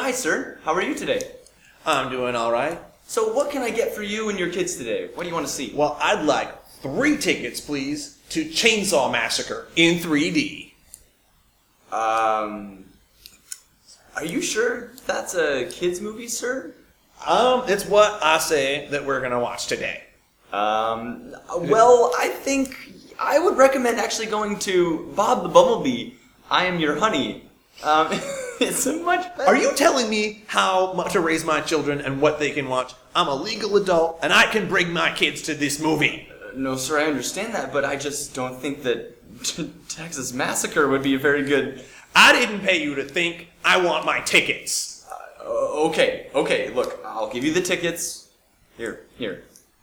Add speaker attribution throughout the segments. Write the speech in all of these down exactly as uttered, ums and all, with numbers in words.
Speaker 1: hi, sir. How are you today?
Speaker 2: I'm doing all right.
Speaker 1: So what can I get for you and your kids today? What do you want to see?
Speaker 2: Well, I'd like three tickets, please, to Chainsaw Massacre in three D.
Speaker 1: Um, are you sure that's a kids movie, sir?
Speaker 2: Um, it's what I say that we're gonna watch today.
Speaker 1: Um, well, I think I would recommend actually going to Bob the Bumblebee, I Am Your Honey. Um, it's a much better...
Speaker 2: Are you telling me how much to raise my children and what they can watch? I'm a legal adult, and I can bring my kids to this movie.
Speaker 1: Uh, no, sir, I understand that, but I just don't think that t- Texas Massacre would be a very good...
Speaker 2: I didn't pay you to think. I want my tickets.
Speaker 1: Uh, okay, okay, look, I'll give you the tickets. Here, here.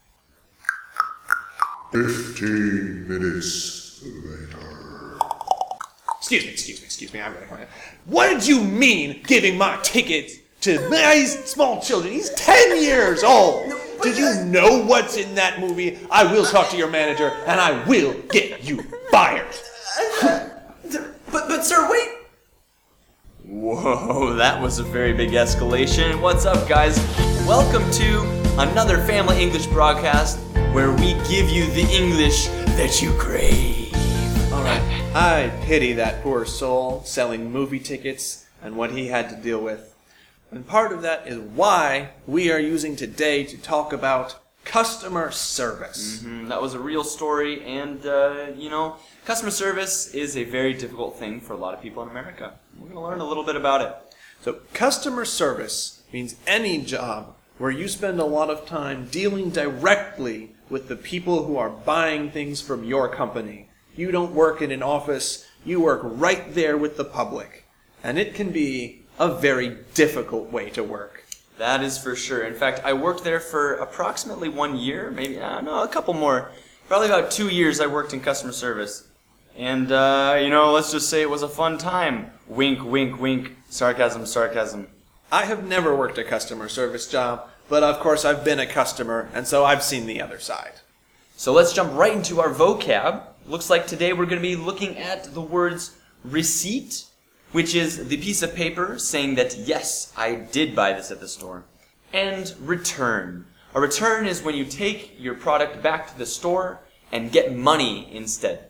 Speaker 3: Fifteen minutes later.
Speaker 2: Excuse me, excuse me, excuse me. I'm gonna come in. What did you mean giving my tickets to these small children? He's ten years old. Did you know what's in that movie? I will talk to your manager, and I will get you fired.
Speaker 1: But, but, sir, wait. Whoa, that was a very big escalation. What's up, guys? Welcome to another Family English broadcast where we give you the English that you crave.
Speaker 2: Alright, I pity that poor soul selling movie tickets and what he had to deal with. And part of that is why we are using today to talk about customer service.
Speaker 1: Mm-hmm, that was a real story, and, uh, you know, customer service is a very difficult thing for a lot of people in America. We're going to learn a little bit about it.
Speaker 2: So, customer service means any job where you spend a lot of time dealing directly with the people who are buying things from your company. You don't work in an office, you work right there with the public. And it can be a very difficult way to work.
Speaker 1: That is for sure. In fact, I worked there for approximately one year, maybe, uh, no, a couple more. Probably about two years I worked in customer service. And, uh, you know, let's just say it was a fun time. Wink, wink, wink. Sarcasm, sarcasm.
Speaker 2: I have never worked a customer service job, but of course I've been a customer, and so I've seen the other side.
Speaker 1: So let's jump right into our vocab. Looks like today we're going to be looking at the words receipt, which is the piece of paper saying that, yes, I did buy this at the store, and return. A return is when you take your product back to the store and get money instead.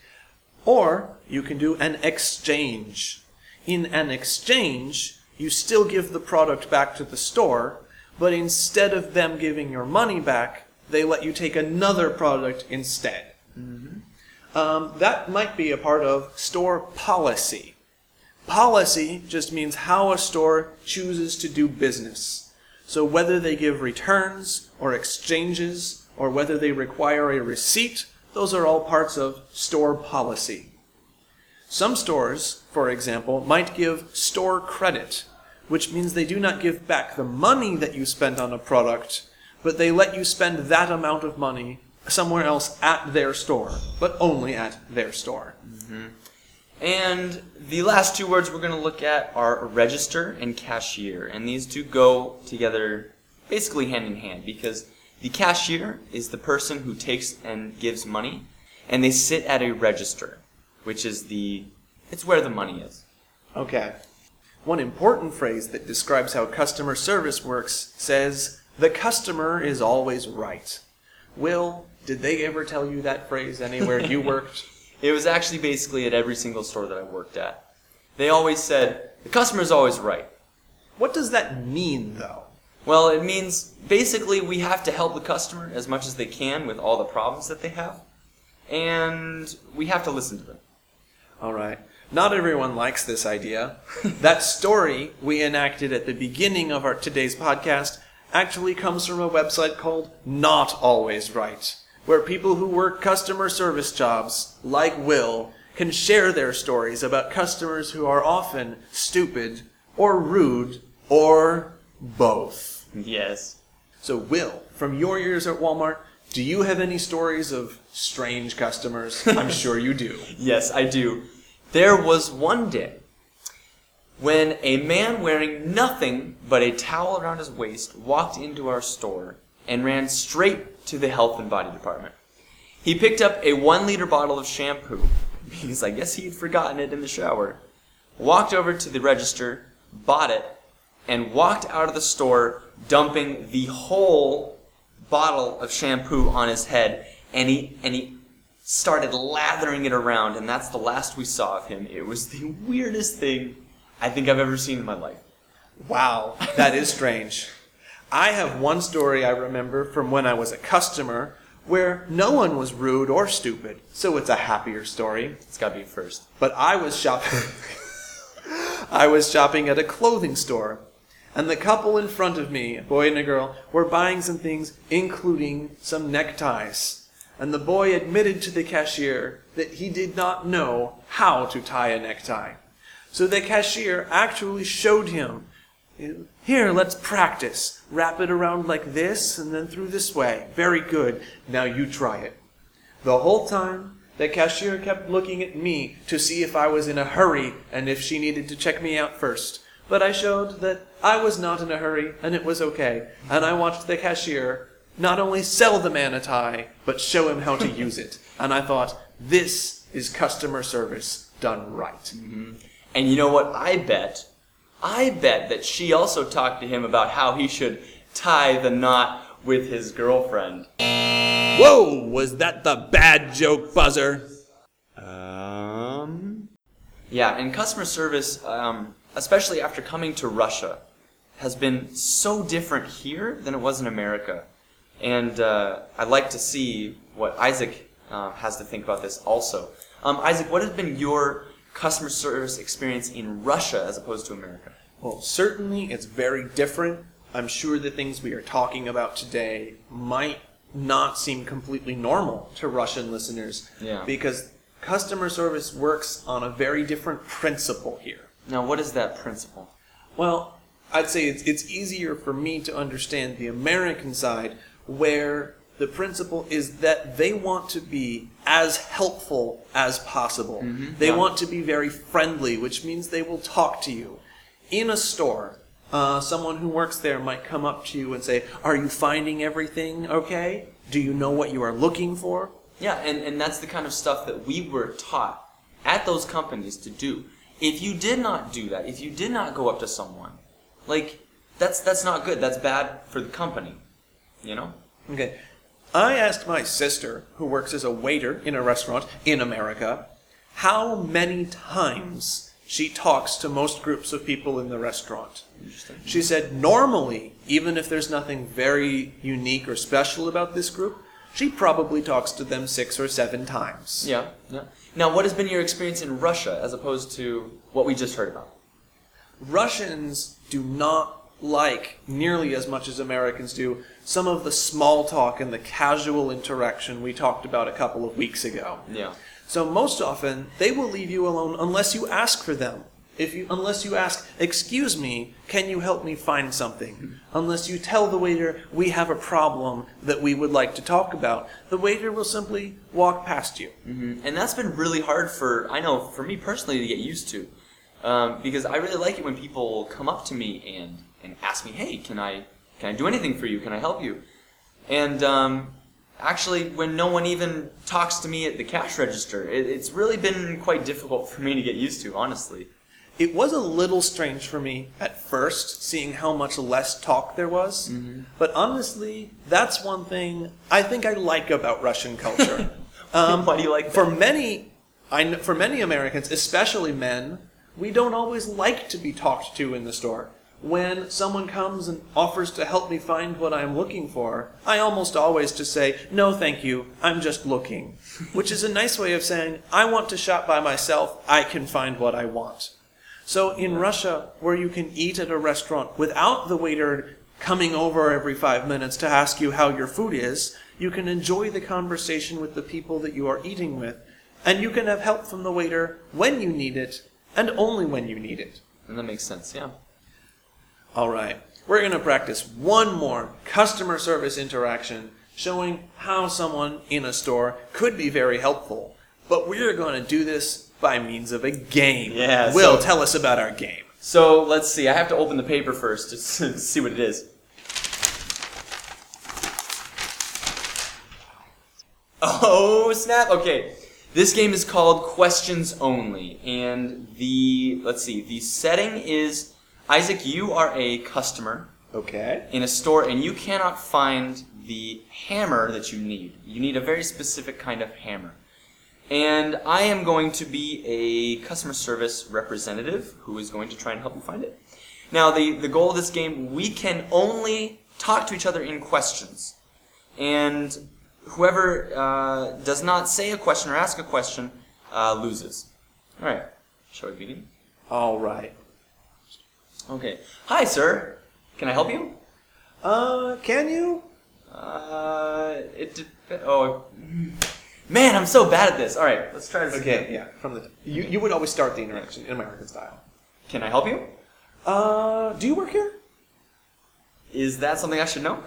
Speaker 2: Or you can do an exchange. In an exchange, you still give the product back to the store, but instead of them giving your money back, they let you take another product instead. Mm-hmm. Um, that might be a part of store policy. Policy just means how a store chooses to do business. So whether they give returns or exchanges, or whether they require a receipt, those are all parts of store policy. Some stores, for example, might give store credit, which means they do not give back the money that you spent on a product, but they let you spend that amount of money somewhere else at their store, but only at their store.
Speaker 1: Mm-hmm. And the last two words we're going to look at are register and cashier, and these two go together basically hand in hand, because the cashier is the person who takes and gives money, and they sit at a register, which is the, it's where the money is.
Speaker 2: Okay. One important phrase that describes how customer service works says, the customer is always right. Will, did they ever tell you that phrase anywhere you worked?
Speaker 1: It was actually basically at every single store that I worked at. They always said, the customer's always right.
Speaker 2: What does that mean, though?
Speaker 1: Well, it means basically we have to help the customer as much as they can with all the problems that they have, and we have to listen to them.
Speaker 2: All right. Not everyone likes this idea. That story we enacted at the beginning of our today's podcast actually comes from a website called Not Always Right, where people who work customer service jobs, like Will, can share their stories about customers who are often stupid or rude or both.
Speaker 1: Yes.
Speaker 2: So, Will, from your years at Walmart, do you have any stories of strange customers? I'm sure you do.
Speaker 1: Yes, I do. There was one day when a man wearing nothing but a towel around his waist walked into our store and ran straight to the health and body department. He picked up a one liter bottle of shampoo, because I guess he had forgotten it in the shower, walked over to the register, bought it, and walked out of the store, dumping the whole bottle of shampoo on his head, and he and he started lathering it around, and that's the last we saw of him. It was the weirdest thing I think I've ever seen in my life.
Speaker 2: Wow, that is strange. I have one story I remember from when I was a customer where no one was rude or stupid, so it's a happier story.
Speaker 1: It's got to be first.
Speaker 2: But I was shopping I was shopping at a clothing store, and the couple in front of me, a boy and a girl, were buying some things, including some neckties. And the boy admitted to the cashier that he did not know how to tie a necktie. So the cashier actually showed him, here, let's practice. Wrap it around like this and then through this way. Very good. Now you try it. The whole time, the cashier kept looking at me to see if I was in a hurry and if she needed to check me out first. But I showed that I was not in a hurry and it was okay. And I watched the cashier not only sell the man a tie, but show him how to use it. And I thought, this is customer service done right.
Speaker 1: Mm-hmm. And you know what? I bet, I bet that she also talked to him about how he should tie the knot with his girlfriend.
Speaker 2: Whoa, was that the bad joke, Buzzer?
Speaker 1: Um... Yeah, and customer service, um, especially after coming to Russia, has been so different here than it was in America. And uh, I'd like to see what Isaac uh, has to think about this also. Um, Isaac, what has been your customer service experience in Russia as opposed to America?
Speaker 2: Well, certainly it's very different. I'm sure the things we are talking about today might not seem completely normal to Russian listeners.
Speaker 1: Yeah.
Speaker 2: Because customer service works on a very different principle here.
Speaker 1: Now, what is that principle?
Speaker 2: Well, I'd say it's, it's easier for me to understand the American side, where the principle is that they want to be as helpful as possible. Mm-hmm. They yeah. want to be very friendly, which means they will talk to you. In a store, uh, someone who works there might come up to you and say, are you finding everything okay? Do you know what you are looking for?
Speaker 1: Yeah, and, and that's the kind of stuff that we were taught at those companies to do. If you did not do that, if you did not go up to someone, like, that's that's not good. That's bad for the company. You know?
Speaker 2: Okay. I asked my sister, who works as a waiter in a restaurant in America, how many times she talks to most groups of people in the restaurant. She said normally, even if there's nothing very unique or special about this group, she probably talks to them six or seven times.
Speaker 1: Yeah, yeah. Now, what has been your experience in Russia as opposed to what we just heard about?
Speaker 2: Russians do not like, nearly as much as Americans do, some of the small talk and the casual interaction we talked about a couple of weeks ago.
Speaker 1: Yeah.
Speaker 2: So most often, they will leave you alone unless you ask for them. If you, unless you ask, excuse me, can you help me find something? Mm-hmm. Unless you tell the waiter, we have a problem that we would like to talk about, the waiter will simply walk past you.
Speaker 1: Mm-hmm. And that's been really hard for, I know, for me personally to get used to. Um, because I really like it when people come up to me and, and ask me, hey, can I can I do anything for you? Can I help you? And um, actually, when no one even talks to me at the cash register, it, it's really been quite difficult for me to get used to, honestly.
Speaker 2: It was a little strange for me at first, seeing how much less talk there was. Mm-hmm. But honestly, that's one thing I think I like about Russian culture.
Speaker 1: um, Why do you like that?
Speaker 2: For many, I, for many Americans, especially men, we don't always like to be talked to in the store. When someone comes and offers to help me find what I'm looking for, I almost always just say, no thank you, I'm just looking. Which is a nice way of saying, I want to shop by myself, I can find what I want. So in Russia, where you can eat at a restaurant without the waiter coming over every five minutes to ask you how your food is, you can enjoy the conversation with the people that you are eating with, and you can have help from the waiter when you need it, and only when you need it.
Speaker 1: And that makes sense, yeah.
Speaker 2: All right, we're going to practice one more customer service interaction showing how someone in a store could be very helpful. But we're going to do this by means of a game.
Speaker 1: Yeah,
Speaker 2: Will,
Speaker 1: so,
Speaker 2: tell us about our game.
Speaker 1: So let's see. I have to open the paper first to see what it is. Oh, snap. Okay. This game is called Questions Only. And the, let's see, the setting is Isaac, you are a customer
Speaker 2: Okay.
Speaker 1: in a store and you cannot find the hammer that you need. You need a very specific kind of hammer. And I am going to be a customer service representative who is going to try and help you find it. Now, the, the goal of this game, we can only talk to each other in questions. And whoever uh, does not say a question or ask a question uh, loses. All right. Shall we begin?
Speaker 2: All right.
Speaker 1: Okay. Hi, sir. Can I help you?
Speaker 2: Uh, can you?
Speaker 1: Uh, it dep- oh, man, I'm so bad at this. All right, let's try this
Speaker 2: Okay,
Speaker 1: again.
Speaker 2: yeah. From the you, you would always start the interaction in American style.
Speaker 1: Can I help you?
Speaker 2: Uh, do you work here?
Speaker 1: Is that something I should know?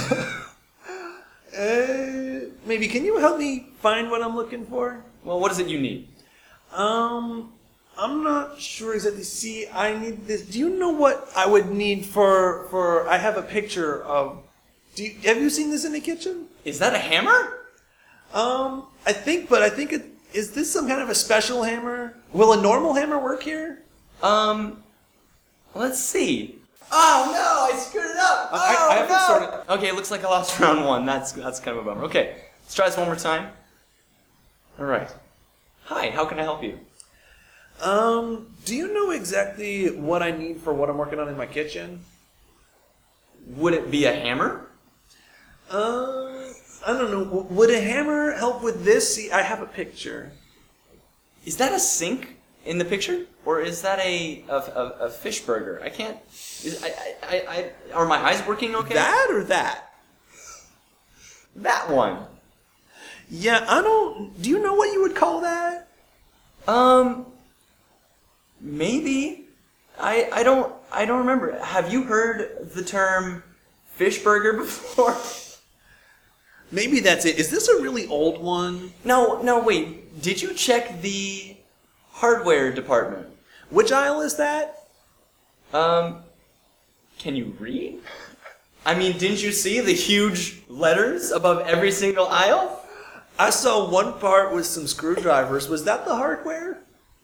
Speaker 2: Uh, maybe. Can you help me find what I'm looking for?
Speaker 1: Well, what is it you need?
Speaker 2: Um, I'm not sure exactly. See, I need this. Do you know what I would need for for? I have a picture of. Do you, have you seen this in the kitchen?
Speaker 1: Is that a hammer?
Speaker 2: Um, I think, but I think it is. This some kind of a special hammer? Will a normal hammer work here?
Speaker 1: Um, let's see. Oh no, I screwed it up. Oh
Speaker 2: I- I haven't
Speaker 1: no.
Speaker 2: started-
Speaker 1: Okay, looks like I lost round one. That's that's kind of a bummer. Okay, let's try this one more time. All right. Hi, how can I help you?
Speaker 2: Um, do you know exactly what I need for what I'm working on in my kitchen?
Speaker 1: Would it be a hammer?
Speaker 2: Uh, I don't know. W- Would a hammer help with this? See, I have a picture.
Speaker 1: Is that a sink in the picture, or is that a a, a, a fish burger? I can't. Is, I, I, I, I, are my eyes working okay?
Speaker 2: That or that?
Speaker 1: That one.
Speaker 2: Yeah, I don't. Do you know what you would call that?
Speaker 1: Um. Maybe. I I don't I don't remember. Have you heard the term fish burger before?
Speaker 2: Maybe that's it. Is this a really old one?
Speaker 1: No, no, wait. Did you check the hardware department?
Speaker 2: Which aisle is that?
Speaker 1: Um, can you read? I mean, didn't you see the huge letters above every single aisle?
Speaker 2: I saw one part with some screwdrivers. Was that the hardware?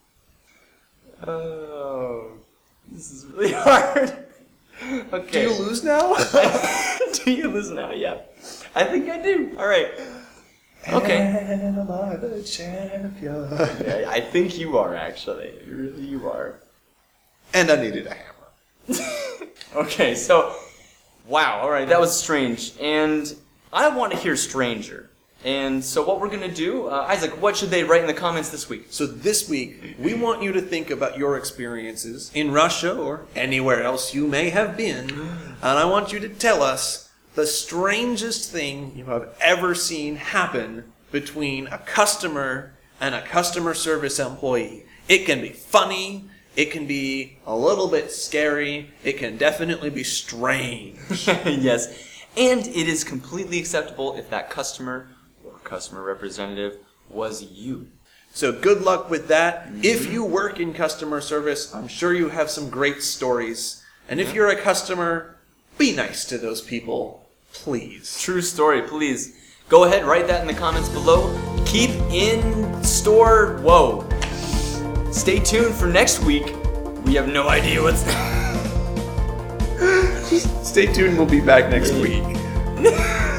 Speaker 1: Oh, this is really hard. Okay.
Speaker 2: Do you lose now?
Speaker 1: Do you lose now? Yeah. I think I do. All right. Okay.
Speaker 2: And am I the champion?
Speaker 1: Yeah, I think you are, actually. Really, you are.
Speaker 2: And I needed a hammer.
Speaker 1: Okay, so, wow, all right, that was strange. And I want to hear Stranger. And so what we're going to do, uh, Isaac, what should they write in the comments this week?
Speaker 2: So this week, we want you to think about your experiences in Russia or anywhere else you may have been. And I want you to tell us the strangest thing you have ever seen happen between a customer and a customer service employee. It can be funny. It can be a little bit scary. It can definitely be strange.
Speaker 1: Yes, and it is completely acceptable if that customer or customer representative was you.
Speaker 2: So good luck with that. Mm-hmm. If you work in customer service, I'm sure you have some great stories. And if you're a customer, be nice to those people, please.
Speaker 1: True story, please. Go ahead, write that in the comments below. Keep in store. Whoa. Stay tuned for next week. We have no idea what's.
Speaker 2: Stay tuned, we'll be back next week.